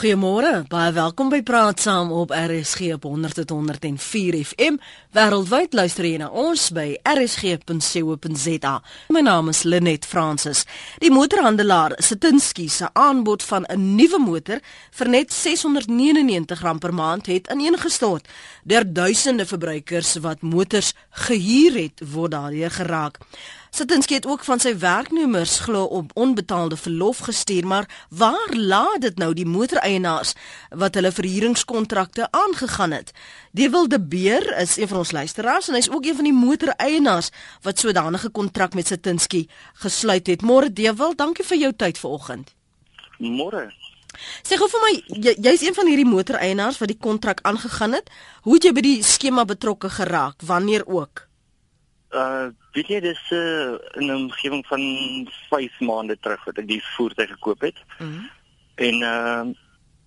Goeiemôre, baie welkom by Praat Saam op RSG op 100.104 FM. Wêreldwyd luister jy na ons by rsg.co.za. My naam is Lenet Francis. Die motorhandelaar Satinski se aanbod van 'n nuwe motor vir net R699 per maand het ineengestort. Deur duisende verbruikers wat motors gehuur het, word daardeur geraak. Satinski het ook van sy werknemers glo op onbetaalde verlof gestuur, maar waar laat dit nou die motoreienaars wat hulle verhuuringskontrakte aangegaan het? Dewald de Beer is een van ons luisteraars en hy is ook een van die motoreienaars wat sodanige kontrak met Satinski gesluit het. Môre Dewald, dankie vir jou tyd vanoggend. Môre. Sê gou vir my, jy's een van hierdie motoreienaars wat die kontrak aangegaan het. Hoe het jy by die skema betrokke geraak? Wanneer ook? Weet jy, dis in 'n omgewing van 5 maande terug wat ek die voertuig gekoop het. En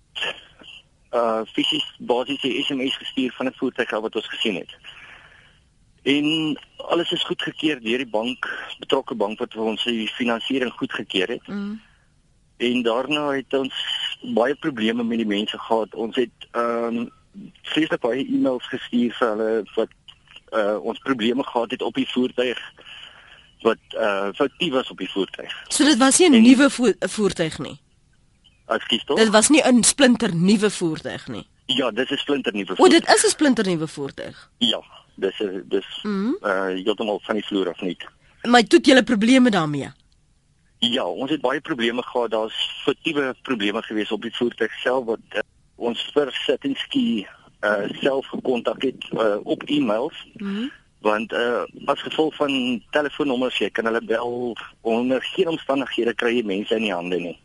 fisies basies die SMS gestuur van 'n voertuig wat ons gesien het. En alles is goedgekeur deur die bank, betrokke bank wat vir ons die finansiering goedgekeur het. En daarna het ons baie probleme met die mense gehad. Ons het vreeslik baie e-mails gestuur vir hulle wat ons probleme gehad het op die voertuig wat foutief was op die voertuig. So dit was nie 'n nuwe voertuig nie. Ekskuus tog? Dit was nie 'n splinter nuwe voertuig nie. Ja, dis 'n splinter nuwe voertuig. O, dit is 'n splinter nuwe voertuig. Ja, dis heeltemal van die vloer af nie. Maar toe het julle probleme daarmee. Ja, ons het baie probleme gehad. Daar's foutiewe probleme gewees op die voertuig self wat ons vir Satinski self gekontak het op e-mails. Want as gevolg van telefoonnommers, jy kan hulle bel, onder geen omstandighede kry jy mense in die hande nie.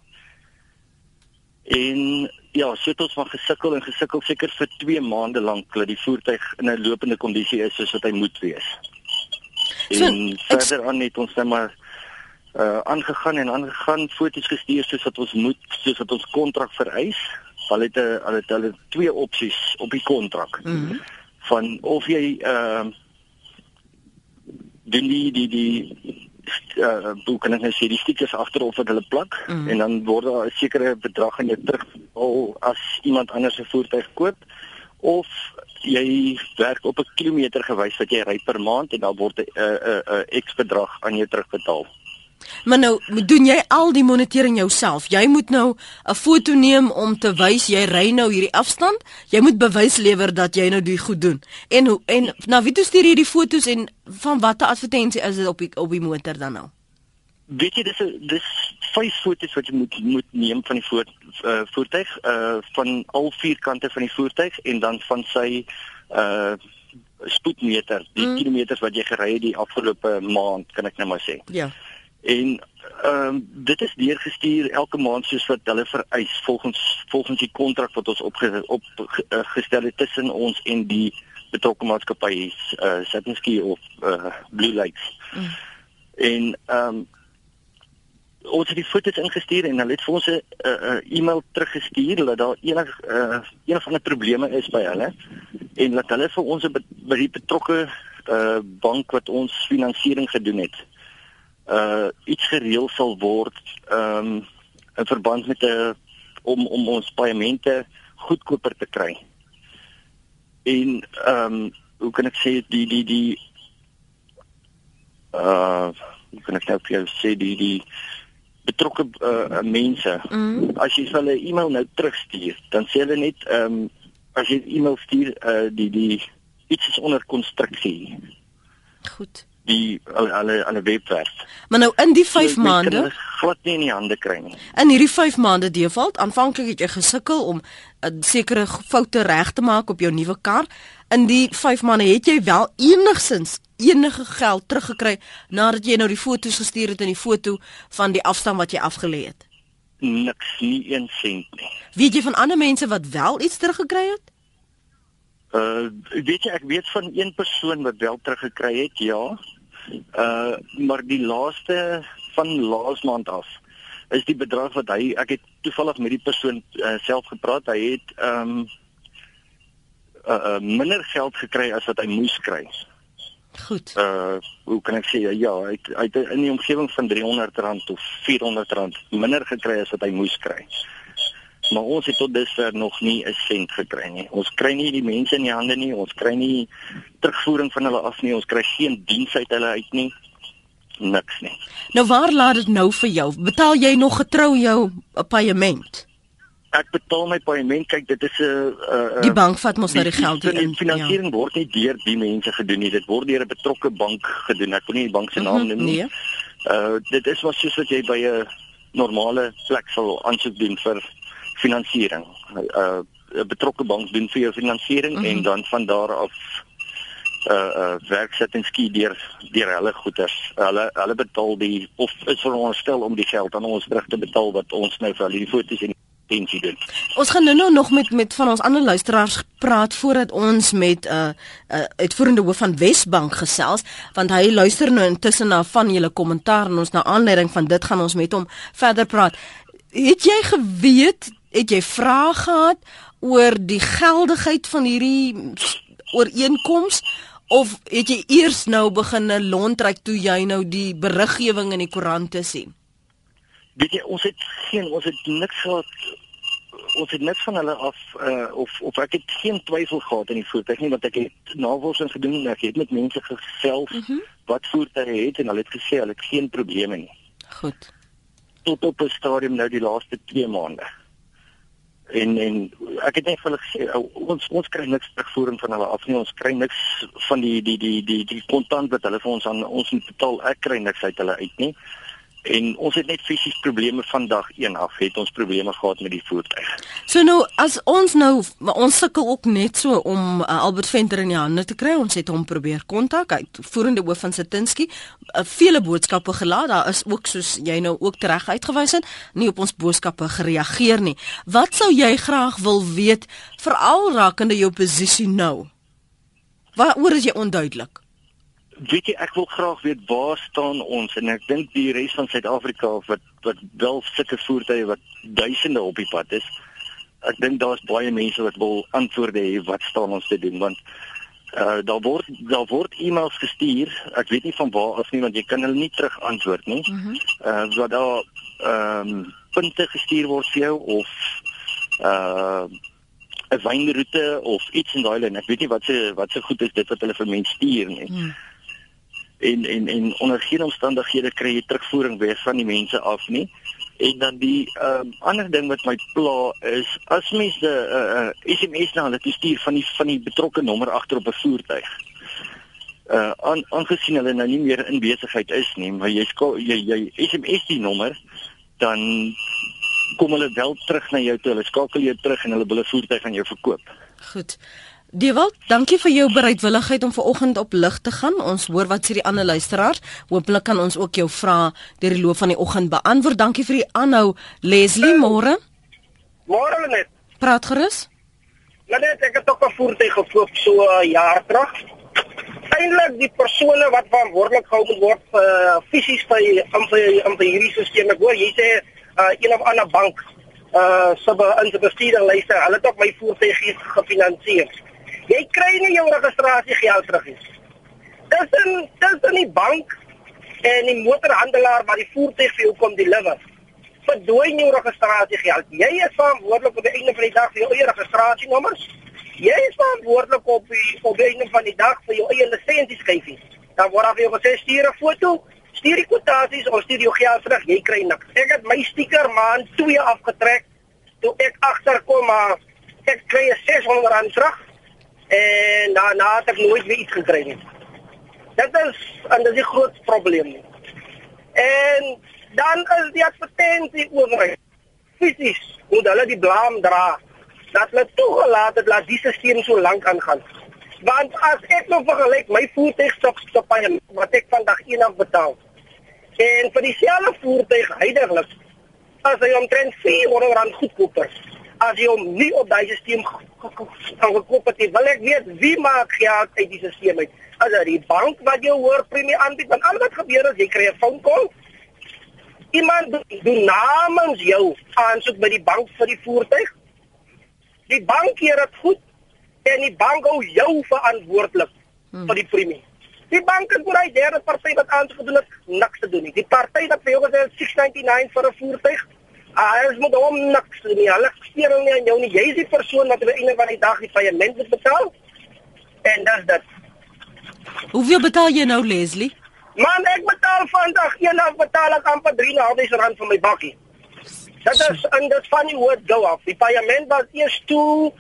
En ja, so het ons van gesukkel seker vir 2 maande lank dat die voertuig in 'n lopende kondisie is soos wat hy moet wees. En verder aan het ons net maar aangegaan, foto's gestuur soos wat ons kontrak vereis. Hulle het 2 opsies op die kontrak. Van of jy doen hoe kan ek nou sê, die stickers agterop wat hulle plak, en dan word daar 'n sekere bedrag aan jou teruggehaal as iemand anders 'n voertuig koop, of jy werk op 'n kilometer gewys wat jy ry per maand en dan word 'n X bedrag aan jou terugbetaal. Maar nou, doen jy al die monitering jouself? Jy moet nou 'n foto neem om te wys jy ry nou hierdie afstand. Jy moet bewys lewer dat jy nou dit goed doen. En na wie toe stuur jy die foto's en van watter advertensie is dit op die motor dan nou? Weet jy, dis 5 foto's wat jy moet neem van die voertuig, van al 4 kante van die voertuig en dan van sy spoedmeter, die kilometers wat jy gery het die afgelope maand, kan ek nou maar sê. Ja. En dit is deurgestuur elke maand soos wat hulle vereis volgens die kontrak wat ons opgestel het tussen ons en die betrokke maatskappy, Satinski of Blue Lakes. En ons het die foto's ingestuur en hulle het vir ons 'n e-mail teruggestuur dat daar een van die probleme is by hulle en dat hulle vir ons by die betrokke bank wat ons finansiering gedoen het iets gereël sal word in verband met om ons paemente goedkoper te kry. En hoe kan ek sê hoe kan ek nou vir jou sê die betrokke mense, as jy hulle e-mail nou terugstuur, dan sê hulle net as jy e-mail stuur die iets is onder konstruksie. Goed. Alle webwerf. Maar nou in die 5 maande glad nie in die hande kry nie. In hierdie 5 maande Dewald, aanvanklik het jy gesukkel om 'n sekere foute reg te maak op jou nuwe kar. In die 5 maande het jy wel enige geld teruggekry nadat jy nou die foto's gestuur het en die foto van die afstand wat jy afgelê het? Niks, nie 1 sent nie. Weet jy van ander mense wat wel iets teruggekry het? Weet jy, ek weet van 1 persoon wat wel teruggekry het, ja. Maar die laaste van laas maand af is die bedrag wat ek het toevallig met die persoon self gepraat, hy het minder geld gekry as wat hy moes kry. Goed. Hoe kan ek sê, ja, hy het in die omgewing van R300 of R400 minder gekry as wat hy moes kry. maar ons het tot dusver nog nie 'n sent gekry nie. Ons kry nie die mense in die hande nie, ons kry nie terugvoering van hulle af nie, ons kry geen diens uit hulle uit nie. Niks nie. Nou waar laat dit nou vir jou? Betaal jy nog getrou jou paaiement? Ek betaal my paaiement, kyk dit is 'n Die bank vat mos nou die geld in. in. Die finansiering word nie deur die mense gedoen nie, dit word deur 'n betrokke bank gedoen. Ek wil nie die bank se naam noem nie. Dit is wat soos wat jy by 'n normale plek sal aansoek doen vir finansiering. 'n Betrokke bank doen vir jou finansiering en dan van daar af werksit en ski deur hulle goeders. Hulle betaal die of is veronderstel om die geld aan ons terug te betaal wat ons nou vir hulle die foto's en intensie doen. Ons gaan nou nog met van ons ander luisteraars praat voordat ons met uitvoerende hoof van Wesbank gesels, want hy luister nou intussen na van julle kommentaar en ons na aanleiding van dit gaan ons met hom verder praat. Het jy geweet, het jy vrae gehad oor die geldigheid van hierdie ooreenkoms of het jy eers nou begin lontryk toe jy nou die beriggewing in die koerante sien? Weet jy, ons het niks gehad. Ons het niks van hulle af of ek het geen twyfel gehad in die voertuig nie, want ek het navorsing gedoen en ek het met mense gesels wat voertuie het en hulle het gesê hulle het geen probleme nie. Goed. Tot op 'n stadium nou die laaste 2 maande. En ek het net vir hulle gesê ons kry niks terugvoering van hulle af nie, ons kry niks van die kontant wat hulle vir ons aan ons moet betaal, ek kry niks uit hulle uit nie. En ons het net fisies probleme van dag 1 af, het ons probleme gehad met die voertuig. So nou, as ons nou, ons sukkel ook net so om Albert Venter in die hande te kry, ons het hom probeer kontak, hy voerende hoof van Satinsky, vele boodskappe gelaat, daar is ook, soos jy nou ook tereg uitgewys het, nie op ons boodskappe gereageer nie. Wat sou jy graag wil weet, veral rakende jou posisie nou? Waaroor is jy onduidelik? Weet jy, ek wil graag weet waar staan ons en ek dink die res van Suid-Afrika wat wel sulke voertuie wat duisende op die pad is. Ek dink daar's baie mense wat wil antwoorde hê wat staan ons te doen, want daar word e-mails gestuur. Ek weet nie van waar af nie, want jy kan hulle nie terug antwoord nie. Dat daar punte gestuur word vir jou of 'n wynroete of iets in daai lyn. Ek weet nie wat se goed is dit wat hulle vir mense stuur nie. En onder geen omstandighede kry jy terugvoering weer van die mense af nie. En dan die ander ding wat my pla is, as mense SMS na hulle stuur van die betrokke nommer agter op 'n voertuig. Aangesien hulle nou nie meer in besigheid is nie, maar jy SMS die nommer, dan kom hulle wel terug na jou toe. Hulle skakel jou terug en hulle wil 'n voertuig aan jou verkoop. Goed. Dewald, dankie vir jou bereidwilligheid om vanoggend op lig te gaan. Ons hoor wat sê die ander luisteraars. Hoopelik kan ons ook jou vrae deur die loop van die oggend beantwoord. Dankie vir die aanhou. Leslie, môre. Môre Lenet. Praat gerus. Lenet, ek het ook 'n voertuig gekoop so 'n jaar terug. Eintlik die persone wat verantwoordelik gehou moet word fisies vir hierdie stelsel. Ek hoor jy sê een of ander bank in se bestuurding luister. Hulle het ook my voertuig gefinansier. Jy kry nie jou registrasiegeld terug nie. Tussen die bank en die motorhandelaar wat die voertuig vir jou kom deliver, verdwyn jou registrasiegeld. Jy is verantwoordelik op die einde van die dag vir jou eie registrasienommers. Jy is verantwoordelik op die einde van die dag vir jou eie lisensieskyfies. Dan word daar vir jou gesê, stuur 'n foto, stuur die kwotasies of stuur jou geld terug, jy kry niks. Ek het my sticker maand 2 afgetrek, toe ek agterkom, maar ek kry R600 terug, en daarna het ek nooit weer iets gekry nie. Dit is die groot probleem. En dan is die advertentie oorheid. Fisies moet hulle die blaam dra, dat hulle toegelaat het, laat die systeem so lank aangaan. Want as ek nou vergelyk my voertuigstoppaaiement wat ek vandag 1 af betaal, en vir dieselfde voertuig huidiglik, as hy omtrent R400 goedkoper, as jy hom nie op die systeem gekoop het, wil ek weet wie maak geld uit die systeem uit. As dit die bank wat jou hoor premie aanbied, want al wat gebeur is, jy kry 'n phone call, iemand doen namens jou aansoek by die bank vir die voertuig, die bank keer dit goed, en die bank hou jou verantwoordelik vir die premie. Die bank is voor die derde party wat aansoek gedoen het, niks te doen nie. Die party wat vir jou gesê het $699 vir 'n voertuig, Ons moet hom niks nie. Hulle steer nie aan jou nie. Jy is die persoon wat aan die einde van die dag die paaiement moet betaal. En dis dit. Hoeveel betaal jy nou, Leslie? Man, ek betaal vandag eendag betaal ek amper R3.500 vir my bakkie. Dat is en dit van die woord go af. Die paaiement was eers toe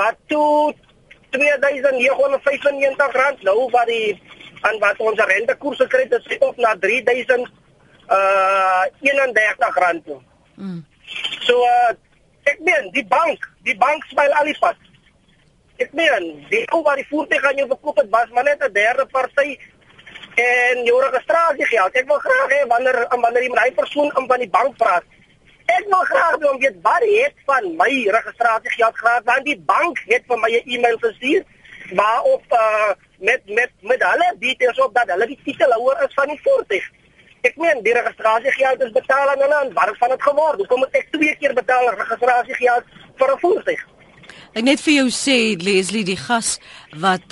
R2.995, nou wat ons rentekoers gekry het, is op na R3.031 toe. So ek meen die bank speel al die pad. Ek meen die ou wat die voertuig aan jou verkoop het was maar net 'n derde party en jou registrasiegeld. Ek wil graag hê wanneer jy met daai persoon van die bank praat. Ek wil graag weet wat het van my registrasiegeld gehad, want die bank het vir my 'n e-mail gestuur waarop met hulle details op dat hulle die titelhouer is van die voertuig. Ek meen die registrasiegeld is betaal aan hulle en wat van dit geword? Hoekom moet ek 2 keer betaal registrasiegeld vir 'n voertuig? Ek net vir jou sê, Leslie, die gas wat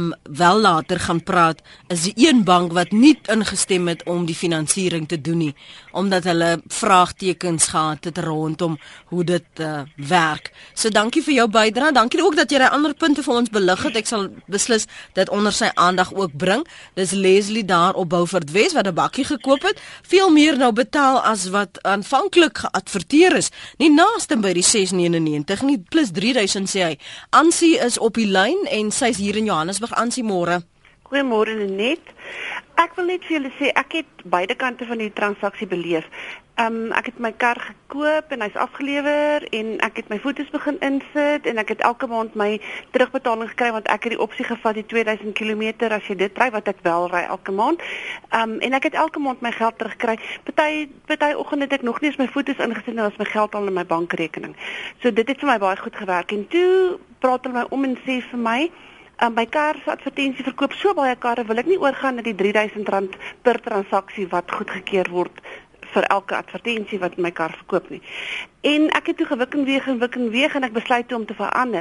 wel later gaan praat, is die een bank wat nie ingestem het om die finansiering te doen nie, omdat hulle vraagtekens gehad het rondom hoe dit werk. So dankie vir jou bydrae. Dankie ook dat jy die ander punte vir ons belig het. Ek sal beslis dit onder sy aandag ook bring. Dis Leslie daar op Beaufort Wes wat 'n bakkie gekoop het, veel meer nou betaal as wat aanvanklik geadverteer is. Nie naaste by die 699 nie, plus 3000 sê hy. Ansie is op die lyn en sy's hier in Johannesburg. Ansie, môre. Goeiemôre Lenet. Ek wil net vir julle sê ek het beide kante van die transaksie beleef. Ek het my kar gekoop en hy's afgelewer en ek het my foto's begin insit en ek het elke maand my terugbetaling gekry want ek het die opsie gevat die 2000 km as jy dit ry wat ek wel ry elke maand. En ek het elke maand my geld terugkry. Party oggend het ek nog nie eens my foto's ingesit en was my geld al in my bankrekening. So dit het vir my baie goed gewerk en toe praat hulle my om en sê vir my my kar se advertensie verkoop so baie karre, wil ek nie oorgaan na die R3000 per transaksie wat goedgekeur word vir elke advertensie wat my kar verkoop nie. En ek het toe gewik en weeg en ek besluit toe om te verander.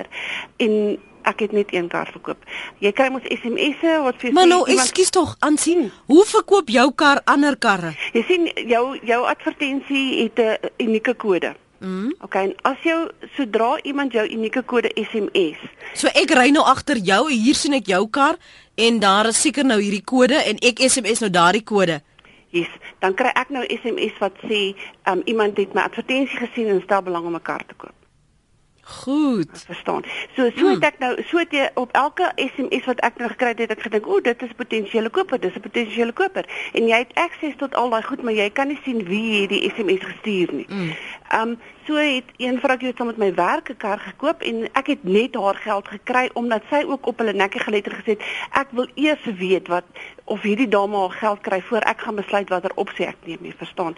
En ek het net een kar verkoop. Jy kry mos SMS'e wat vir Maar nou, ekskuus tog, aansien, hoe verkoop jou kar ander karre? Jy sien jou advertensie het 'n unieke kode. Okay, en as sodra iemand jou unieke kode SMS. So ek ry nou agter jou, hier sien ek jou kar en daar is seker nou hierdie kode en ek SMS nou daardie kode. Yes, dan kry ek nou SMS wat sê iemand het my advertensie gesien en stel belang om 'n kar te koop. Goed. Verstaan. So het ek nou jy op elke SMS wat ek nou gekry het ek gedink, o, dit is 'n potensiële koper, dis 'n potensiële koper. En jy het akses tot al daai goed, maar jy kan nie sien wie het die SMS gestuur nie. So het een vroukie saam met my werk 'n kar gekoop en ek het net haar geld gekry omdat sy ook op hulle nekkie geletter gesê het, ek wil eers weet of hierdie dame haar geld kry voor ek gaan besluit watter opsie ek neem, jy verstaan.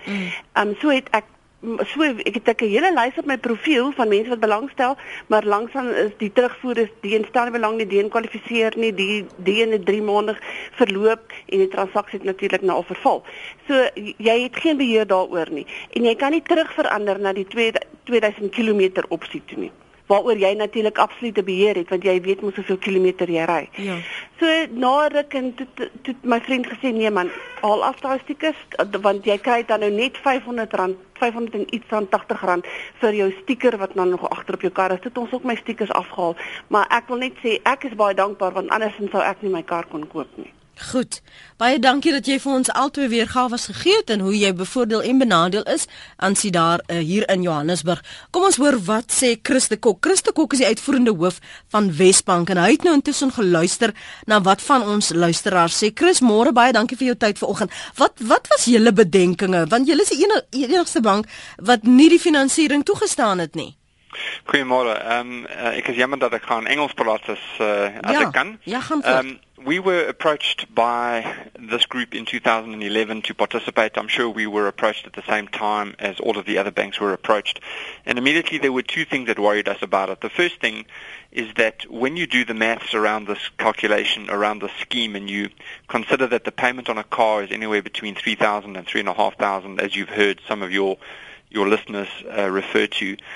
Ek het 'n hele lys op my profiel van mense wat belangstel, maar langsaan is die terugvoerders die instel nie belang nie, die kwalifiseer nie, die in 3 maande verloop en die transaksie het natuurlik nou al verval. So jy het geen beheer daaroor nie en jy kan nie terugverander na die 2000 km opsie toe nie. Waaroor jy natuurlik absolute beheer het want jy weet mos hoeveel kilometer jy ry. Ja. So na ruk en toe my vriend gesê nee man, haal af daai stickers want jy kry dan nou net R500 en iets van R80 vir jou sticker wat dan nog agter op jou kar is. Dit ons ook my stickers afgehaal, maar ek wil net sê ek is baie dankbaar want andersins sou ek nie my kar kon koop nie. Goed. Baie dankie dat jy vir ons albei weergawe gegee het en hoe jy bevoordeel en benadeel is aansien daar hier in Johannesburg. Kom ons hoor wat sê Chris de Kok. Chris de Kok is die uitvoerende hoof van Wesbank en hy het nou intussen geluister na wat van ons luisteraars sê. Chris, môre, baie dankie vir jou tyd vanoggend. Wat was julle bedenkinge? Want julle is die enigste bank wat nie die finansiering toegestaan het nie. Goeiemôre. Ek is jammer dat ek gaan Engels praat as ek kan. Ja, gaan voort. We were approached by this group in 2011 to participate. I'm sure we were approached at the same time as all of the other banks were approached. And immediately there were two things that worried us about it. The first thing is that when you do the maths around this calculation, around the scheme, and you consider that the payment on a car is anywhere between $3,000 and $3,500, as you've heard some of your listeners refer to,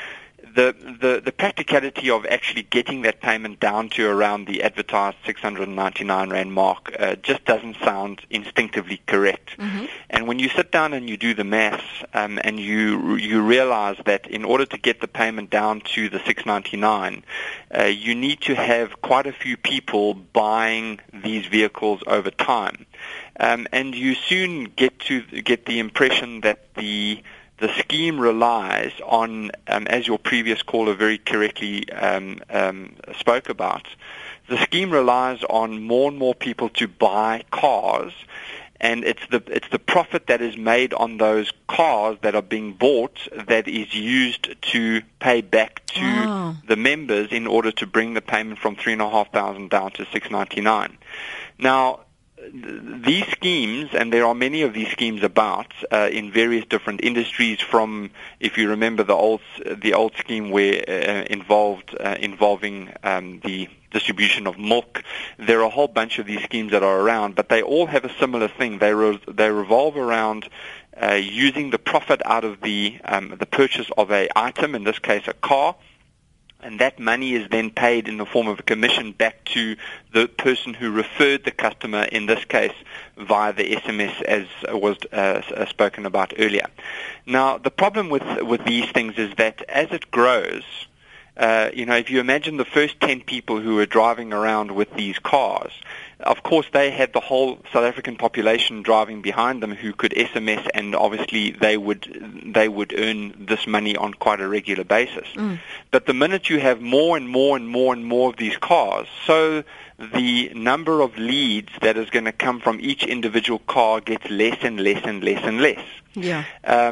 the practicality of actually getting that payment down to around the advertised 699 Rand mark just doesn't sound instinctively correct. Mm-hmm. And when you sit down and you do the maths and you realize that in order to get the payment down to the 699, you need to have quite a few people buying these vehicles over time. And you soon get the impression that the scheme relies on, as your previous caller very correctly spoke about, the scheme relies on more and more people to buy cars, and it's the profit that is made on those cars that are being bought that is used to pay back to the members in order to bring the payment from 3,500 down to 699. Now, these schemes, and there are many of these schemes about in various different industries. From, if you remember the old scheme where involving the distribution of milk, there are a whole bunch of these schemes that are around, but they all have a similar thing. They revolve around using the profit out of the purchase of an item, in this case a car. And that money is then paid in the form of a commission back to the person who referred the customer, in this case via the SMS, as was spoken about earlier. Now, the problem with these things is that as it grows, if you imagine the first 10 people who were driving around with these cars, of course they had the whole South African population driving behind them who could SMS, and obviously they would earn this money on quite a regular basis. But the minute you have more and more and more and more of these cars, so the number of leads that is going to come from each individual car gets less and less and less and less. Yeah.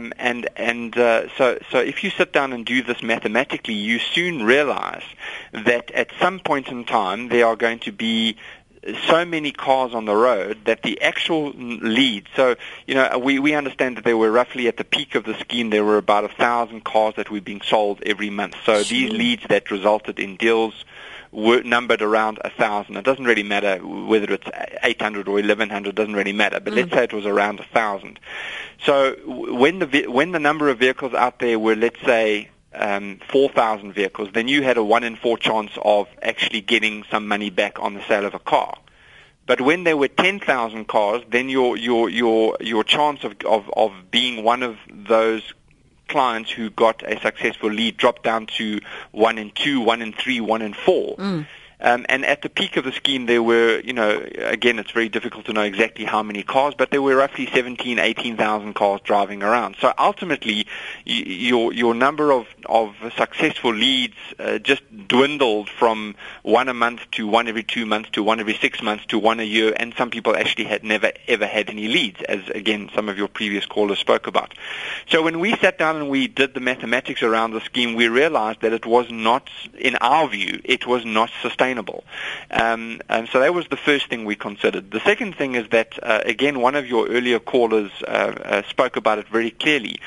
So if you sit down and do this mathematically, you soon realize that at some point in time there are going to be so many cars on the road that the actual lead, so, we understand that there were roughly, at the peak of the scheme, there were about 1,000 cars that were being sold every month. So these leads that resulted in deals were numbered around 1,000. It doesn't really matter whether it's 800 or 1,100, doesn't really matter, but let's say it was around 1,000. So when the number of vehicles out there were, let's say, 4,000 vehicles, then you had a 1 in 4 chance of actually getting some money back on the sale of a car. But when there were 10,000 cars, then your chance of being one of those clients who got a successful lead dropped down to 1 in 2, 1 in 3, 1 in 4. And at the peak of the scheme, there were, again, it's very difficult to know exactly how many cars, but there were roughly 17,000, 18,000 cars driving around. So ultimately, your number of successful leads just dwindled from 1 a month to 1 every 2 months to 1 every 6 months to 1 a year, and some people actually had never ever had any leads, as again some of your previous callers spoke about. So when we sat down and we did the mathematics around the scheme, we realized that it was not, in our view, it was not sustainable. And so that was the first thing we considered. The second thing is that, again, one of your earlier callers spoke about it very clearly.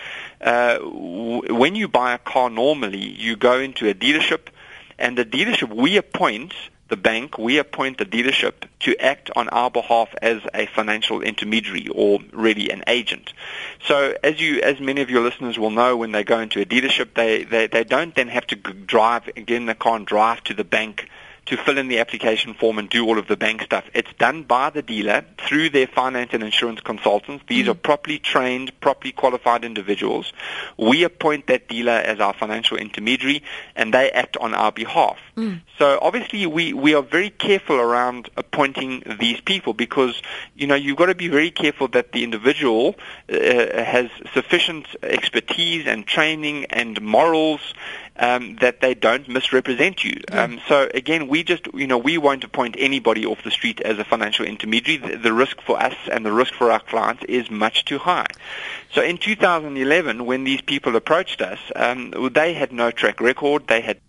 When you buy a car normally, you go into a dealership, and the dealership, we appoint the dealership to act on our behalf as a financial intermediary, or really an agent. So as many of your listeners will know, when they go into a dealership, they don't then have to drive, again, they can't drive to the bank to fill in the application form and do all of the bank stuff. It's done by the dealer through their finance and insurance consultants. These are properly trained, properly qualified individuals. We appoint that dealer as our financial intermediary, and they act on our behalf. So obviously we are very careful around appointing these people, because you've got to be very careful that the individual has sufficient expertise and training and morals that they don't misrepresent you. So again, we won't appoint anybody off the street as a financial intermediary. The risk for us and the risk for our clients is much too high. So in 2011, when these people approached us, they had no track record. They had history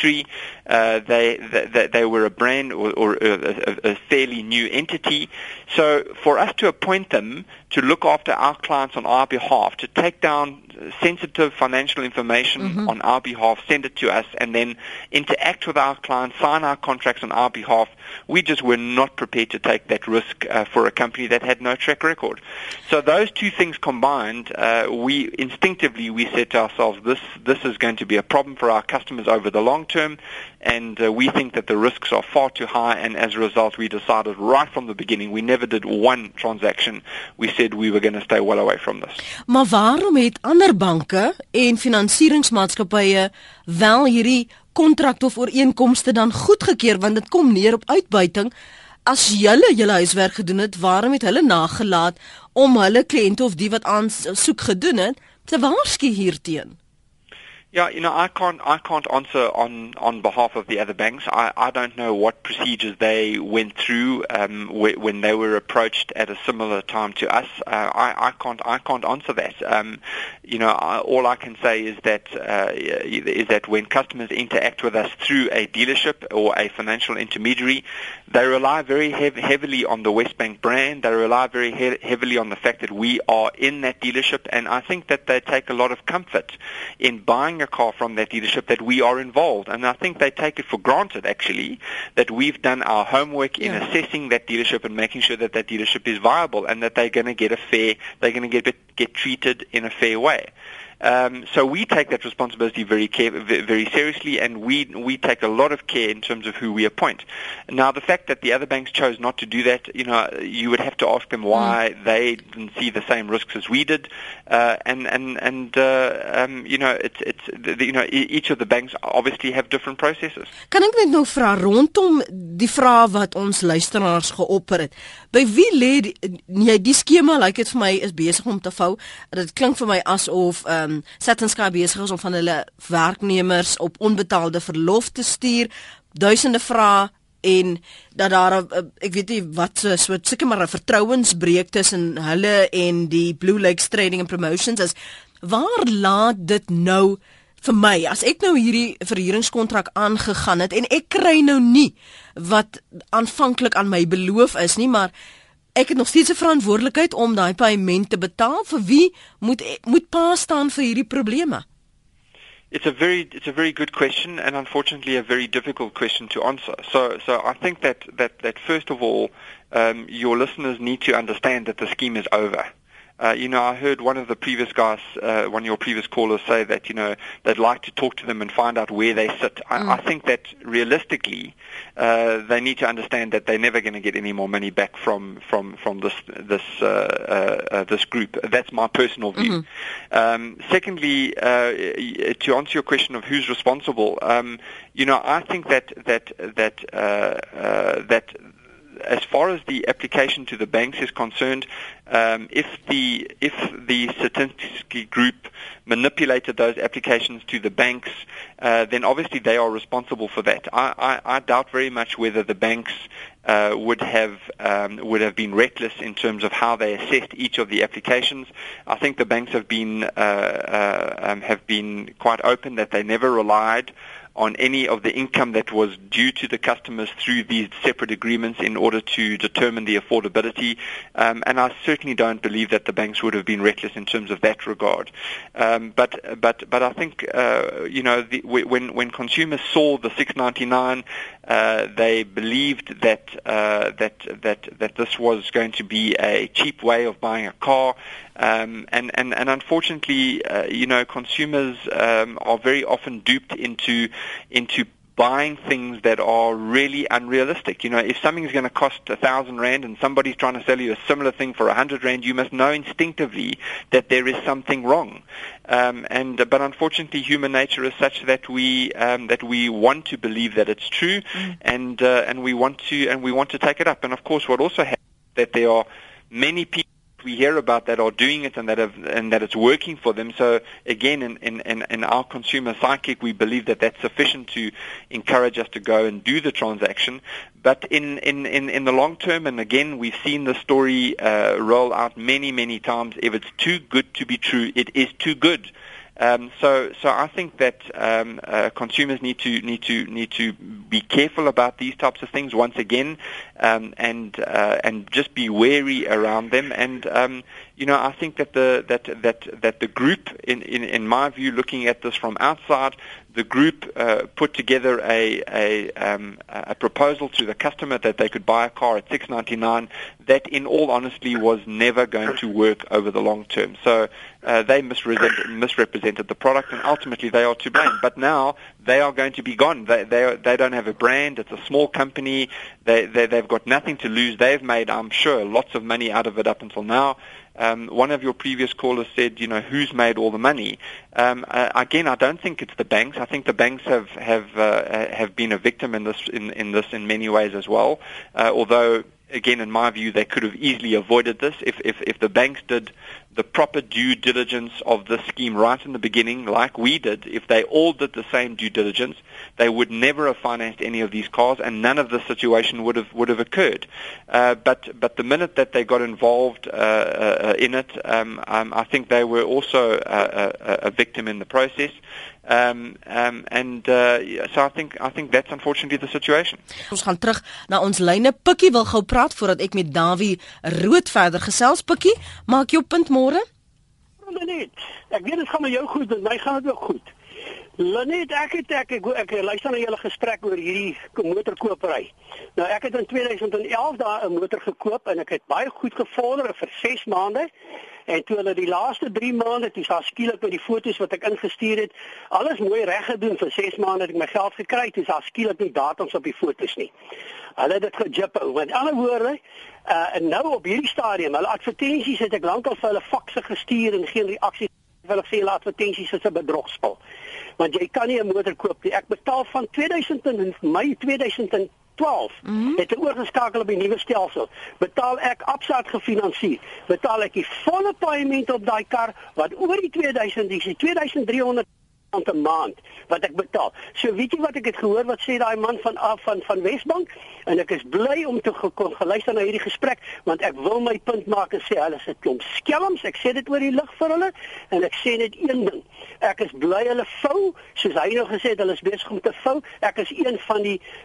history. They were a brand or a fairly new entity. So for us to appoint them to look after our clients on our behalf, to take down sensitive financial information on our behalf, send it to us, and then interact with our clients, sign our contracts on our behalf, we just were not prepared to take that risk for a company that had no track record. So those two things combined, we instinctively said to ourselves, this is going to be a problem for our customers over the long term, and we think that the risks are far too high, and as a result we decided right from the beginning, we never did one transaction. We said we were going to stay well away from this. Maar waarom het ander banke en finansieringsmaatskappye wel hierdie kontrak of ooreenkomste dan goedgekeur, want dit kom neer op uitbuiting? As julle huiswerk gedoen het, waarom het hulle nagelaat om hulle kliënte of die wat aansoek gedoen het te waarsku hierteen? Yeah, I can't answer on behalf of the other banks. I don't know what procedures they went through when they were approached at a similar time to us. I can't answer that. All I can say is that when customers interact with us through a dealership or a financial intermediary, they rely very heavily on the Westbank brand. They rely very heavily on the fact that we are in that dealership, and I think that they take a lot of comfort in buying a car from that dealership that we are involved, and I think they take it for granted actually that we've done our homework in assessing that dealership and making sure that that dealership is viable and that they're going to get treated in a fair way. So we take that responsibility very seriously, and we take a lot of care in terms of who we appoint. Now, the fact that the other banks chose not to do that, you would have to ask them why they didn't see the same risks as we did, each of the banks obviously have different processes. Kan ek net nou vra rondom die vraag wat ons luisteraars geopper het? By wie lê die skema, like dit vir my is besig om te vou. Dit klink vir my asof Sat&Sky besig is om van hulle werknemers op onbetaalde verlof te stuur, duisende vrae, en dat daar ek weet nie wat seker maar 'n vertrouensbreuk tussen hulle en die Blue Lakes Trading and Promotions is. Waar laat dit nou vir my, as ek nou hierdie verhuuringskontrak aangegaan het en ek kry nou nie wat aanvanklik aan my beloof is nie, maar ek het nog steeds 'n verantwoordelikheid om daai paaiement te betaal. Vir wie moet pa staan vir hierdie probleme? It's a very good question, and unfortunately a very difficult question to answer. So I think that first of all, your listeners need to understand that the scheme is over. I heard one of the previous guys, one of your previous callers say that, they'd like to talk to them and find out where they sit. I think that realistically, they need to understand that they're never going to get any more money back from this group. That's my personal view. Secondly, to answer your question of who's responsible, I think that as far as the application to the banks is concerned, if the Sat&Sky group manipulated those applications to the banks, then obviously they are responsible for that. I doubt very much whether the banks would have been reckless in terms of how they assessed each of the applications. I think the banks have been quite open that they never relied on any of the income that was due to the customers through these separate agreements in order to determine the affordability. And I certainly don't believe that the banks would have been reckless in terms of that regard. But I think when consumers saw the $6.99, they believed that this was going to be a cheap way of buying a car. And unfortunately, consumers are very often duped into buying things that are really unrealistic. If something is going to cost R1,000 and somebody's trying to sell you a similar thing for R100, you must know instinctively that there is something wrong. But unfortunately, human nature is such that we want to believe that it's true, and we want to take it up. And of course, what also happens is that there are many people we hear about that are doing it and that it's working for them. So again, in our consumer psychic, we believe that that's sufficient to encourage us to go and do the transaction. But in the long term, and again, we've seen the story roll out many times. If it's too good to be true, it is too good. So I think that consumers need to be careful about these types of things once again, and just be wary around them. And I think that the group, in my view, looking at this from outside, the group put together a proposal to the customer that they could buy a car at $699. That, in all honesty, was never going to work over the long term. So they misrepresented the product, and ultimately they are to blame. But now they are going to be gone. They don't have a brand. It's a small company. They've got nothing to lose. They've made, I'm sure, lots of money out of it up until now. One of your previous callers said, who's made all the money? Again, I don't think it's the banks. I think the banks have been a victim in this in many ways as well. Although, again, in my view, they could have easily avoided this if the banks did the proper due diligence of the scheme right in the beginning, like we did. If they all did the same due diligence, they would never have financed any of these cars, and none of the situation would have occurred. But the minute that they got involved in it, I think they were also a victim in the process. So I think that's unfortunately the situation. Ons gaan terug na ons lyne. Pikkie wil gou praat voordat ek met Davie Rood verder gesels. Pikkie, maak jou punt môre. Lenet, ek weet dit gaan met jou goed, met my gaan dit ook goed. Lenet, ek luister na julle gesprek oor hierdie motorkopery. Nou ek het in 2011 daar 'n motor gekoop en ek het baie goed gevorder vir 6 maande. En toe hulle die laaste 3 maande, toe sa skielik met die foto's wat ek ingestuur het, alles mooi reg gedoen vir 6 maande het ek my geld gekry, toe sa skielik nie datums op die foto's nie. Hulle het dit gejip. Met ander woorde, en nou op hierdie stadium, hulle advertensies het ek lankal vir hulle fakse gestuur en geen reaksie. Hulle sê hulle advertensies is 'n bedrogspel. Want jy kan nie 'n motor koop nie. Ek betaal van Mei 2012 het ek oorgeskakel op die nuwe stelsel. Betaal ek Absa gefinansier. Betaal ek die volle paaiement op daai kar wat oor die 2000 is, 2300 'n maand wat ek betaal. So weet jy wat ek het gehoor wat sê daai man van Wesbank, en ek is bly om te geluister na hierdie gesprek, want ek wil my punt maak en sê hulle is 'n klomp skelms. Ek sê dit oor die lig vir hulle en ek sê net een ding. Ek is bly hulle vou, soos hy nou gesê het, hulle is besig om te vou. Ek is een van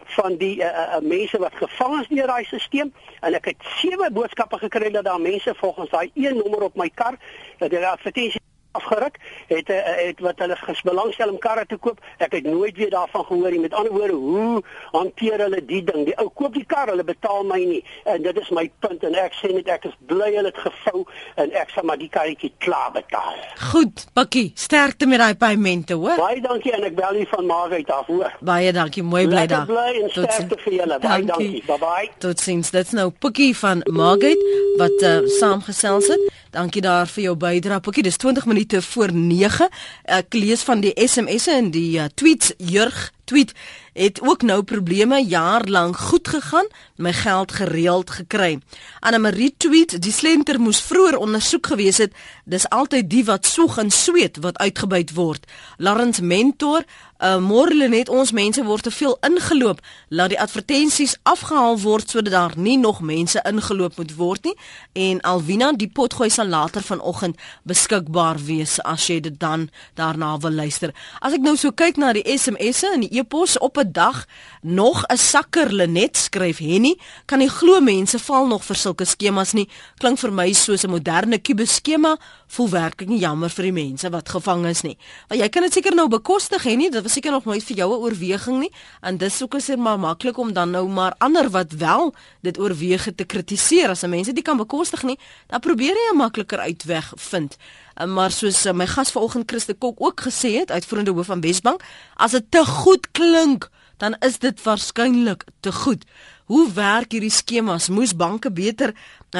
die mense wat gevang is deur daai stelsel en ek het 7 boodskappe gekry dat daar mense volgens daai een nommer op my kar dat hulle advertensie afgeruk het wat hulle belangstel om karre te koop. Ek het nooit weer daarvan gehoor nie. Met ander woorde, hoe hanteer hulle die ding? Die ou koop die kar, hulle betaal my nie. En dit is my punt en ek sê net ek is bly hulle het gevou en ek sal maar die karretjie klaar betaal. Goed, Pikkie, sterkte met daai paaiemente, hoor. Baie dankie en ek bel u van Maagheid af, hoor. Baie dankie, mooi bly daar. Bly en sterkte vir julle. Baie dankie. Bye-bye. Totsiens. Dit's nou Pikkie van Maagheid wat saamgesels het. Dankie daar vir jou bydrae, Pikkie. Dis 20 minute voor 9. Ek lees van die SMS'e en die tweets. Jurg tweet het ook nou probleme, jaar lank goed gegaan, my geld gereeld gekry. Anne-Marie tweet, die slenter moes vroeër ondersoek gewees het, dis altyd die wat soeg en sweet wat uitgebuit word. Lawrence Mentor, môre net ons mense word te veel ingeloop, laat die advertensies afgehaal word sodat daar nie nog mense ingeloop moet word nie. En Alwina, die potgooi sal later vanoggend beskikbaar wees as jy dit dan daarna wil luister. As ek nou so kyk na die SMS'e en die e-pos op 'n dag, nog 'n sakker Lenet, skryf Henny, kan nie glo mense val nog vir sulke skemas nie. Klink vir my soos 'n moderne kubus skema, voel werklik nie jammer vir die mense wat gevang is nie. Want jy kan dit seker nou bekostig, Henny, dit was seker nog nooit vir jou 'n oorweging nie, en dis ook is dit maar maklik om dan nou maar ander wat wel dit oorweeg te kritiseer. As mense dit kan bekostig nie, dan probeer jy 'n makliker uitweg vind. Maar soos my gas vanoggend Christe Kok ook gesê het, uitvoerende hoof van Wesbank, as dit te goed klink, dan is dit waarskynlik te goed. Hoe werk hierdie skemas? Moes banke beter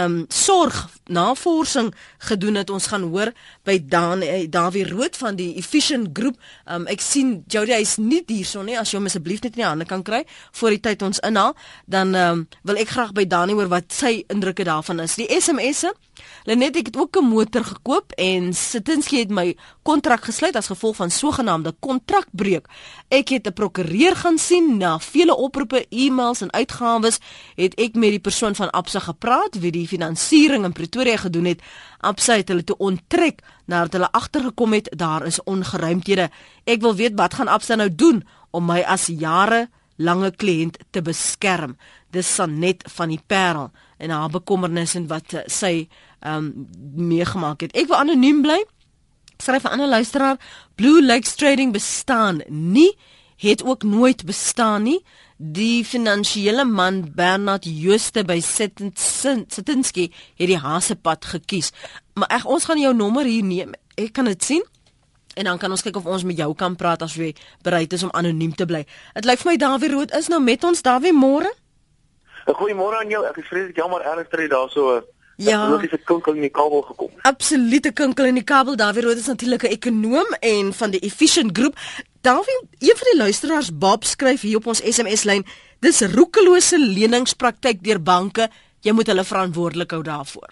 navorsing gedoen het? Ons gaan hoor by Davie Rood van die Efficient Groep. Ek sien Jody is nie hierson nie. As jy hom asseblief net in die hande kan kry voor die tyd ons inhaal, dan wil ek graag by Dani hoor wat sy indrukke daarvan is. Die SMS'e Lenet, ek het ook 'n motor gekoop en Sitinsky het my kontrak gesluit as gevolg van sogenaamde kontrakbreuk. Ek het 'n prokureur gaan sien, na vele oproepe, e-mails en uitgawes het ek met die persoon van Absa gepraat wie die finansiering in Pretoria gedoen het. Absa het hulle toe onttrek nadat hulle agtergekom het daar is ongeruimthede. Ek wil weet wat gaan Absa nou doen om my as jarelange kliënt te beskerm. Dis Sanet van die Parel en haar bekommernis en wat sy meegemaak het. Ek wil anoniem bly. Skryf 'n ander luisteraar, Blue Lakes Trading bestaan nie, het ook nooit bestaan nie. Die finansiële man Bernard Jooste by Sitinsky het die Hasepad gekies. Maar ons gaan jou nommer hier neem. Ek kan dit sien. En dan kan ons kyk of ons met jou kan praat as jy bereid is om anoniem te bly. Dit lyk vir my Dawie Rood is nou met ons. Dawie, môre? Goeiemôre aan jou. Ek is vreeslik jammer ernstig daar so logiese kinkel in die kabel gekom. Absolute kinkel in die kabel. Dawie Rood is natuurlik 'n ekonoom en van die Efficient Groep. Dawie, een van die luisteraars, Bob, skryf hier op ons SMS-lyn, dis roekelose leningspraktyk deur banke. Jy moet hulle verantwoordelik hou daarvoor.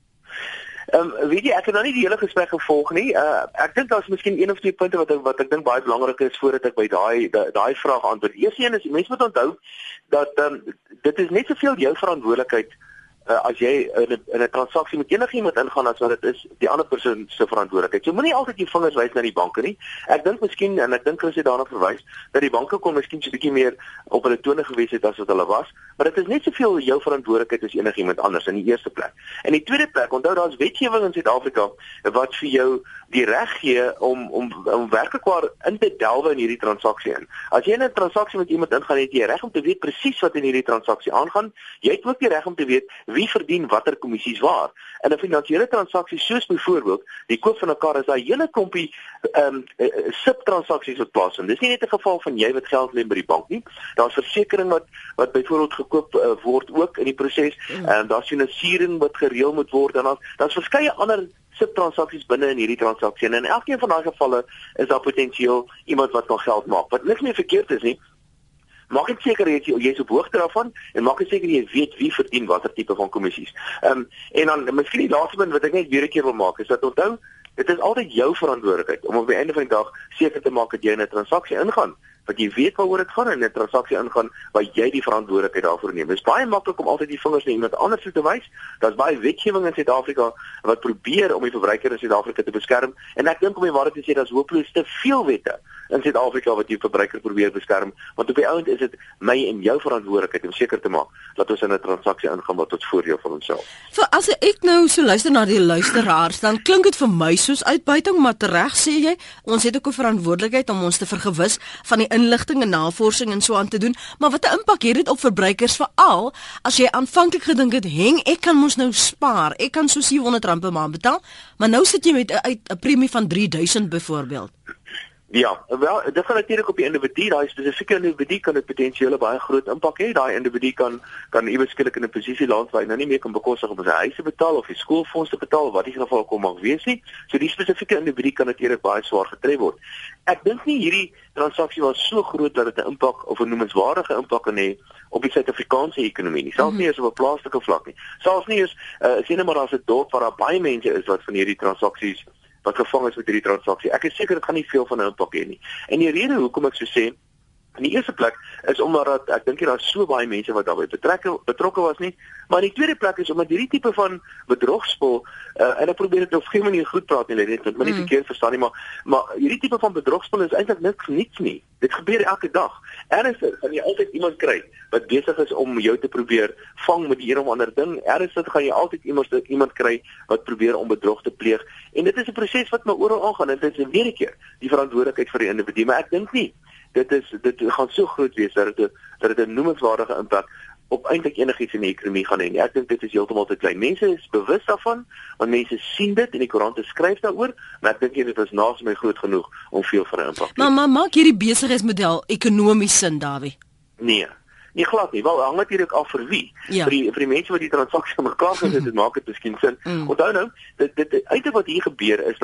Weet jy, ek het nou nie die hele gesprek gevolg nie. Ek dink daar's miskien een of twee punte wat ek dink baie belangrik is voordat ek by daai vraag antwoord. Eerste een is, mense moet onthou dat dit is net soveel jou verantwoordelikheid as jy in 'n transaksie met enigiemand ingaan as wat dit is die ander persoon se verantwoordelikheid. Jy moenie altyd jou vingers wys na die banke nie. Ek dink miskien en ek dink Chris het daarna verwys dat die banke kon miskien so 'n bietjie meer op hulle tone gewees het as wat hulle was, maar dit is net soveel jou verantwoordelikheid as enigiemand anders in die eerste plek. In die tweede plek, onthou daar's wetgewing in Suid-Afrika wat vir jou die reg gee om werklik waar in te delwe in hierdie transaksie in. As jy in 'n transaksie met iemand ingaan, het jy reg om te weet presies wat in hierdie transaksie aangaan. Jy het ook die reg om te weet wie verdien watter kommissies waar. In 'n finansiële transaksie soos byvoorbeeld die koop van 'n kar is daar 'n hele klompie subtransaksies wat plaasvind. Dis nie net 'n geval van jy wat geld leen by die bank nie. Daar's versekering wat byvoorbeeld gekoop word ook in die proses. Daar's finansiering wat gereël moet word en daar's verskeie ander subtransaksies binne in hierdie transaksie. En in elkeen van daai gevalle is daar potensieel iemand wat kan geld maak. Wat niks meer verkeerd is nie. Maak dit seker jy's op hoogte daarvan en maak dit seker jy weet wie verdien watter tipe van kommissies. En dan miskien die laaste punt wat ek net weer 'n keer wil maak is dat onthou, dit is altyd jou verantwoordelikheid om op die einde van die dag seker te maak dat jy in 'n transaksie ingaan. Dat jy weet waaroor dit gaan en 'n transaksie ingaan waar jy die verantwoordelikheid daarvoor neem. Dit is baie maklik om altyd die vingers na iemand anders te wys. Daar's baie wetgewing in Suid-Afrika wat probeer om die verbruiker in Suid-Afrika te beskerm en ek dink om die waarheid te sê daar's hopeloos te veel wette in Suid-Afrika wat die verbruiker probeer beskerm, want op die ouend is dit my en jou verantwoordelikheid om seker te maak dat ons in 'n transaksie ingaan wat tot voordeel van onsself. So as ek nou so luister na die luisteraars, dan klink dit vir my soos uitbuiting, maar tereg sê jy, ons het ook 'n verantwoordelikheid om ons te vergewis van die inligting en navorsing en so aan te doen, maar wat 'n impak het dit op verbruikers veral as jy aanvanklik gedink het, ek kan mos nou spaar, ek kan so R700 per maand betaal, maar nou sit jy met 'n premie van R3000 byvoorbeeld. Ja, wel, dit gaan natuurlik op die individu, daai spesifieke individu kan dit potensieel baie groot impak hê. Daai individu kan iewers skielik in 'n posisie land waar hy nou nie meer kan bekostig om sy huis te betaal of sy skoolfonds te betaal, wat die geval kom mag wees nie. So die spesifieke individu kan natuurlik baie swaar getref word. Ek dink nie hierdie transaksie was so groot dat dit 'n impak of 'n noemenswaardige impak kan hê op die Suid-Afrikaanse ekonomie nie. Selfs nie eens op 'n plaaslike vlak nie. Selfs nie eens sien net maar daar's 'n dorp waar daar baie mense is wat van hierdie transaksies wat gevang is met hierdie transaksie. Ek is seker dit gaan nie veel van 'n impak hê nie. En die rede hoekom ek so sê, in die eerste plek is omdat ek dink daar's so baie mense wat daarbey betrokke was nie, maar in die tweede plek is omdat hierdie tipe van bedrogspel en ek probeer dit op 'n goeie manier goed praat nie, net dat my nie verkeerd verstaan nie, maar hierdie tipe van bedrogspel is eintlik niks nie. Dit gebeur elke dag. Ernstig, gaan jy altyd iemand kry wat besig is om jou te probeer vang met die een of ander ding. Ernstig gaan jy altyd iemand kry wat probeer om bedrog te pleeg. En dit is 'n proses wat maar oral aangaan en dit is weer 'n keer die verantwoordelikheid vir die individu, maar ek dink nie dit gaan so groot wees dat dit 'n noemenswaardige impak op eintlik enigiets in die ekonomie gaan hê. Ek dink dit is heeltemal te klein. Mense is bewus daarvan, want mense sien dit en die koerante skryf daaroor, maar ek dink dit is naas my groot genoeg om veel van 'n impak te hê. Maar maak hierdie besigheidsmodel ekonomies sin, Dawie? Nee, glad nie. Wel, hang natuurlik af vir wie. Ja. Vir die mense wat die transaksie aan mekaar gesit het, maak dit miskien sin. Onthou nou, dit eintlik wat hier gebeur is dat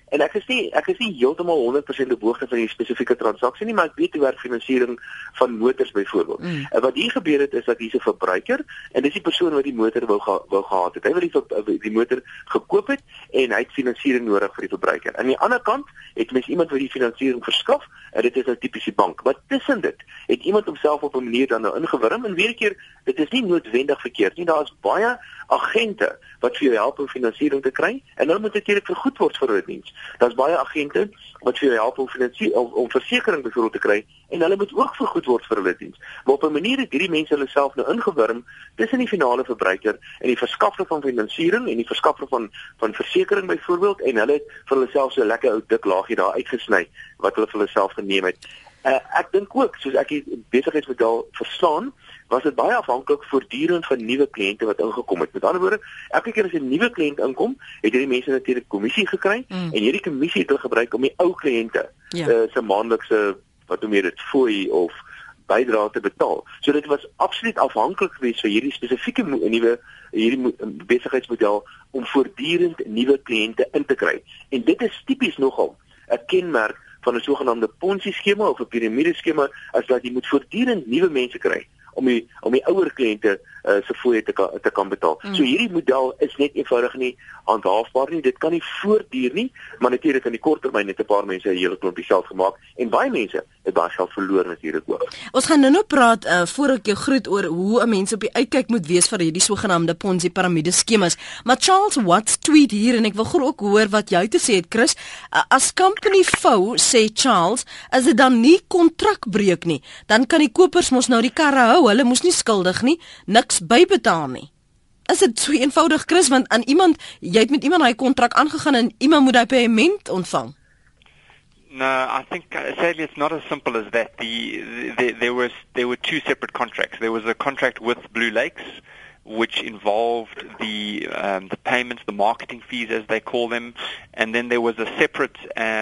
En ek is nie heeltemal 100% op hoogte van die spesifieke transaksie nie, maar ek weet hoe werk finansiering van motors byvoorbeeld. En wat hier gebeur het is dat hier's 'n verbruiker en dis die persoon wat die motor wou gehad het. Hy wil die motor gekoop het en hy het finansiering nodig vir die verbruiker. Aan die ander kant het mens iemand wat die finansiering verskaf en dit is 'n tipiese bank. Wat tussen dit het iemand homself op 'n manier dan nou ingewurm en weer 'n keer dit is nie noodwendig verkeerd nie. Daar is baie agente wat vir jou help om finansiering te kry en hulle moet natuurlik vergoed word vir hulle diens. Daar's baie agente wat vir jou help om versekerings byvoorbeeld te kry en hulle moet ook vergoed word vir hulle diens. Maar op 'n manier het hierdie mense hulle self nou ingewurm tussen die finale verbruiker en die verskaffer van finansiering en die verskaffer van versekerings byvoorbeeld en hulle het vir hulle self so 'n lekker ou dik laagie daar uitgesny wat hulle vir hulle self geneem het. Ek dink ook, soos ek die besigheidsmodel verstaan, was dit baie afhanklik voortdurend van nuwe kliënte wat ingekom het. Met ander woorde, elke keer as 'n nuwe kliënt inkom, het hierdie mense natuurlik kommissie gekry en hierdie kommissie het hulle gebruik om die ou kliënte se maandelikse wat noem jy dit fooi of bydrae te betaal. So dit was absoluut afhanklik geweest vir hierdie spesifieke hierdie besigheidsmodel om voortdurend nuwe kliënte in te kry. En dit is tipies nogal 'n kenmerk van 'n sogenaamde Ponzi skema of 'n piramideskema as dat jy moet voortdurend nuwe mense kry om die ouer kliënte se fooie te kan betaal. So hierdie model is net eenvoudig nie handhaafbaar nie. Dit kan nie voortduur nie, maar natuurlik in die kort termyn het 'n paar mense 'n hele klompie geld gemaak en baie mense het baie geld verloor natuurlik ook. Ons gaan nou praat voor ek jou groet oor hoe 'n mens op die uitkyk moet wees vir hierdie sogenaamde Ponzi piramide skemas. Maar Charles Watts tweet hier en ek wil ook hoor wat jy te sê het, Chris. As company vou, sê Charles, as dit dan nie kontrakbreek nie, dan kan die kopers mos nou die karre hou. Hulle moes nie skuldig nie, niks bybetaal nie. Is dit so eenvoudig, Chris, want jy het met iemand hy kontrak aangegaan en iemand moet hy payment ontvang? No, I think sadly it's not as simple as that. There were two separate contracts. There was a contract with Blue Lakes, which involved the payments, the marketing fees as they call them, and then there was a separate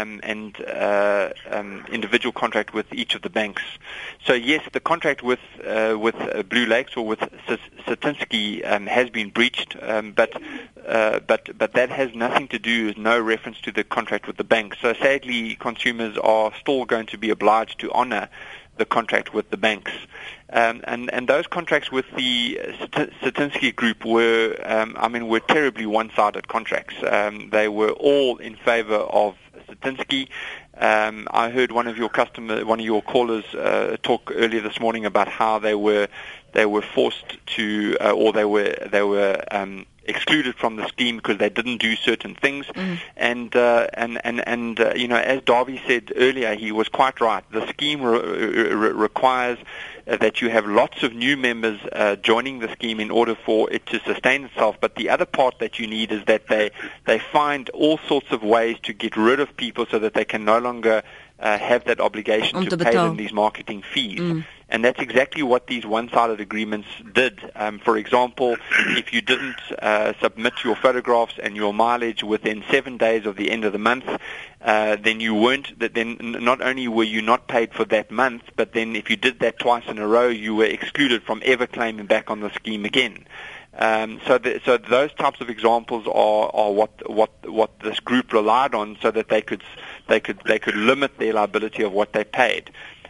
individual contract with each of the banks. So yes, the contract with Blue Lakes or with Satinsky has been breached, but that has nothing to do, no reference to the contract with the bank. So sadly, consumers are still going to be obliged to honor the contract with the banks. And those contracts with the Satinsky Group were terribly one-sided contracts. They were all in favor of Satinsky. I heard one of your callers talk earlier this morning about how they were forced to, or they were excluded from the scheme because they didn't do certain things. And as Darby said earlier, he was quite right. The scheme requires that you have lots of new members joining the scheme in order for it to sustain itself. But the other part that you need is that they find all sorts of ways to get rid of people so that they can no longer have that obligation to pay them these marketing fees. And that's exactly what these one-sided agreements did. For example, if you didn't submit your photographs and your mileage within 7 days of the end of the month, then not only were you not paid for that month, but then if you did that twice in a row, you were excluded from ever claiming back on the scheme again. So those types of examples are what this group relied on, so that they could limit their liability of what they paid.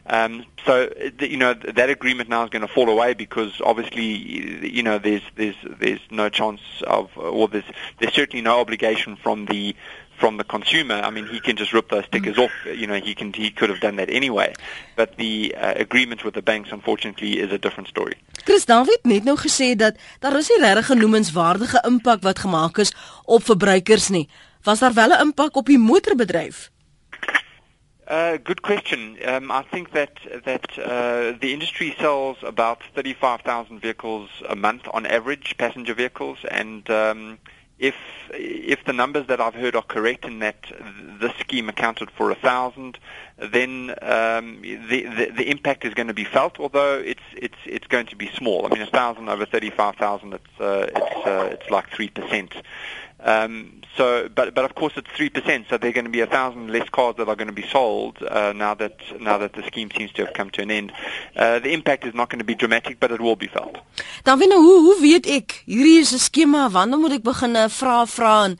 That agreement now is going to fall away because obviously, there's no chance of, or there's certainly no obligation from the consumer. I mean, he can just rip those stickers off. He could have done that anyway. But the agreement with the banks, unfortunately, is a different story. Chris, David net nou gesê dat daar is nie regtig 'n noemenswaardige impak wat gemaak is op verbruikers nie. Was daar wel 'n impak op die motorbedryf? Good question. I think that the industry sells about 35,000 vehicles a month on average, passenger vehicles, and if the numbers that I've heard are correct, in that this scheme accounted for 1,000, then the impact is going to be felt, although it's going to be small. I mean, 1,000 over 35,000, it's like 3%. But of course it's 3%, so there are going to be 1,000 less cars that are going to be sold now that the scheme seems to have come to an end. The impact is not going to be dramatic, but it will be felt. Dan hoe weet ek hierdie is 'n skema, wanneer moet ek begin vra en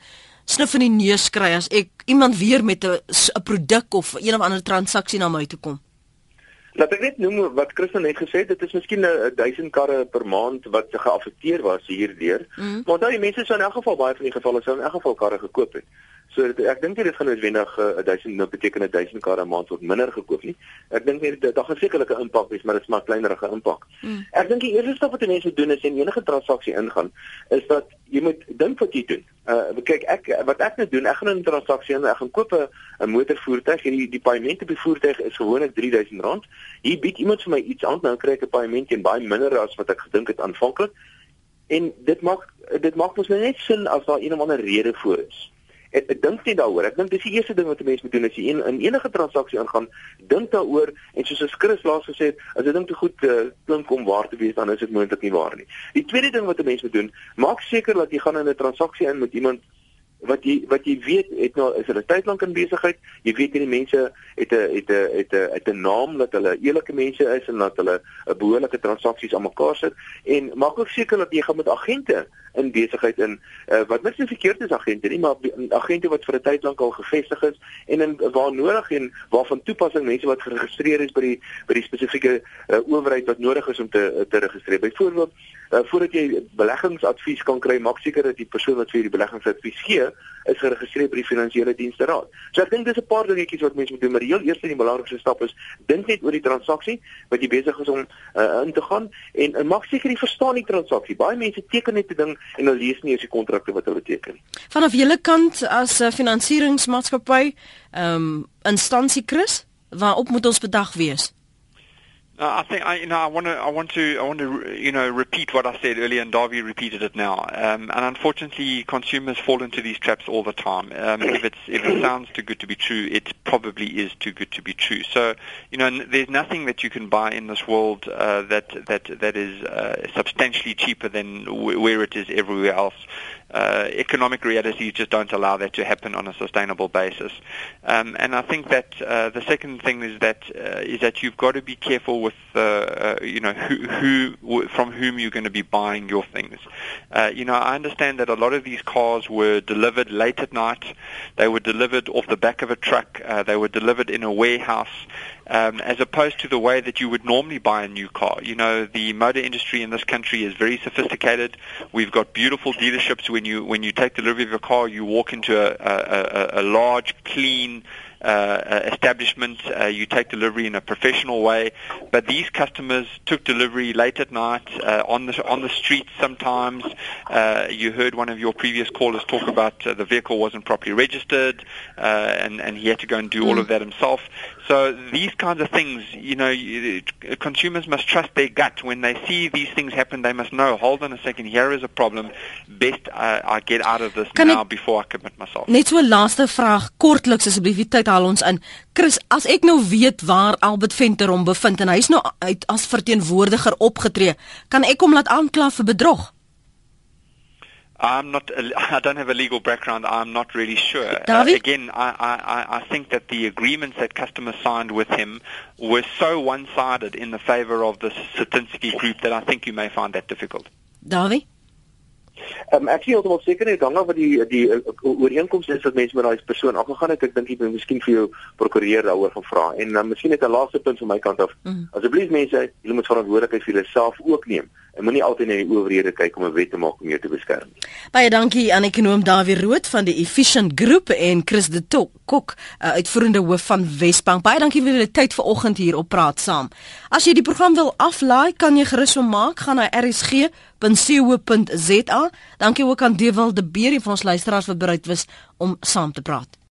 snif in die neus kry as ek iemand weer met 'n produk of een of ander transaksie na my toe kom? Laat ek net noem wat Christel net gesê het, dit is miskien 1000 karre per maand wat geaffekteer was hierdeur. Maar onthou die mense sou in elk geval baie van die gevalle sou in elk geval karre gekoop het. So ek dink nie dit gaan noodwendig 1000 beteken 1000 karre 'n maand word minder gekoop nie. Ek dink nie daar gaan sekerlik 'n impak wees, maar dit is maar 'n kleinerige impak. Ek dink die eerste stap wat die mense doen is en enige transaksie ingaan, is dat jy moet dink wat jy doen. Kyk, wat ek nou doen, ek gaan in 'n transaksie en ek gaan koop 'n motorvoertuig. Die paaiement op die voertuig is gewoonlik R3000. Hier bied iemand vir my iets aan, nou kry ek 'n paaiement teen baie minder as wat ek gedink het aanvanklik. En dit maak mos net sin as daar een of ander rede voor is. Ek dink net daaroor. Ek dink dis die eerste ding wat 'n mens moet doen as jy in enige transaksie aangaan, dink daaroor en soos Chris laas gesê het, as 'n ding te goed klink om waar te wees, dan is dit moontlik nie waar nie. Die tweede ding wat 'n mens moet doen, maak seker dat jy gaan in 'n transaksie in met iemand wat jy weet is hulle tyd lank in besigheid. Jy weet hierdie mense het 'n naam dat hulle eerlike mense is en dat hulle 'n behoorlike transaksies aan mekaar sit en maak ook seker dat jy gaan met agente in besigheid in wat niks verkeerd is agente nie, maar agente wat vir 'n tyd lank al gevestig is en waar nodig en waarvan toepassing mense wat geregistreer is by die spesifieke owerheid wat nodig is om te registreer. Byvoorbeeld voordat jy beleggingsadvies kan kry, maak seker dat die persoon wat vir die beleggingsadvies gee, is geregistreer by die Finansiële Dienste Raad. So ek dink dis 'n paar dingetjies wat mense moet doen, maar die heel eerste en die belangrikste stap is dink net oor die transaksie wat jy besig is om in te gaan en maak seker jy verstaan die transaksie. Baie mense teken net 'n ding en hulle lees nie eens die kontrakte wat hulle teken. Vanaf julle kant as finansieringsmaatskappy, instansie Chris, waarop moet ons bedag wees? I think I want to repeat what I said earlier, and Darby repeated it now. And unfortunately, consumers fall into these traps all the time. If it sounds too good to be true, it probably is too good to be true. So, there's nothing that you can buy in this world that is substantially cheaper than where it is everywhere else. Economic realities just don't allow that to happen on a sustainable basis. And I think that the second thing is that you've got to be careful with who from whom you're going to be buying your things. I understand that a lot of these cars were delivered late at night. They were delivered off the back of a truck. They were delivered in a warehouse. As opposed to the way that you would normally buy a new car. The motor industry in this country is very sophisticated. We've got beautiful dealerships. When you take delivery of a car, you walk into a large, clean establishment. You take delivery in a professional way. But these customers took delivery late at night on the streets sometimes. You heard one of your previous callers talk about the vehicle wasn't properly registered, and he had to go and do all of that himself. So these kinds of things, consumers must trust their gut. When they see these things happen, they must know, hold on a second, here is a problem. Best I get out of this now before I commit myself. Net so 'n laaste vraag, kortliks asseblief, die tyd haal ons in. Chris, as ek nou weet waar Albert Venter hom bevind en hy's nou uit as verteenwoordiger opgetree, kan ek hom laat aankla vir bedrog? I don't have a legal background. I'm not really sure. Again, I think that the agreements that customers signed with him were so one-sided in the favor of the Satinsky group that I think you may find that difficult. Davie? Ek sien heeltemal seker nie dan wat die ooreenkoms is wat mense met daai persoon afgegaan het. Ek dink jy moet miskien vir jou prokureur daaroor gaan vra. En miskien net 'n laaste punt van my kant af. Asseblief mense, julle moet verantwoordelikheid vir julleself ook neem. En moenie altyd na die owerhede kyk om 'n wet te maak om jou te beskerm. Baie dankie aan ekonoom Dawie Rood van die Efficient Group en Chris de Kok, uitvoerende hoof van Wesbank. Baie dankie vir julle tyd vanoggend hier op Praat Saam. As jy die program wil aflaai, kan jy gerus hom maak. Gaan na rsg.co.za. Dankie ook aan Dewald de Beer, een van ons luisteraars wat bereid was om saam te praat.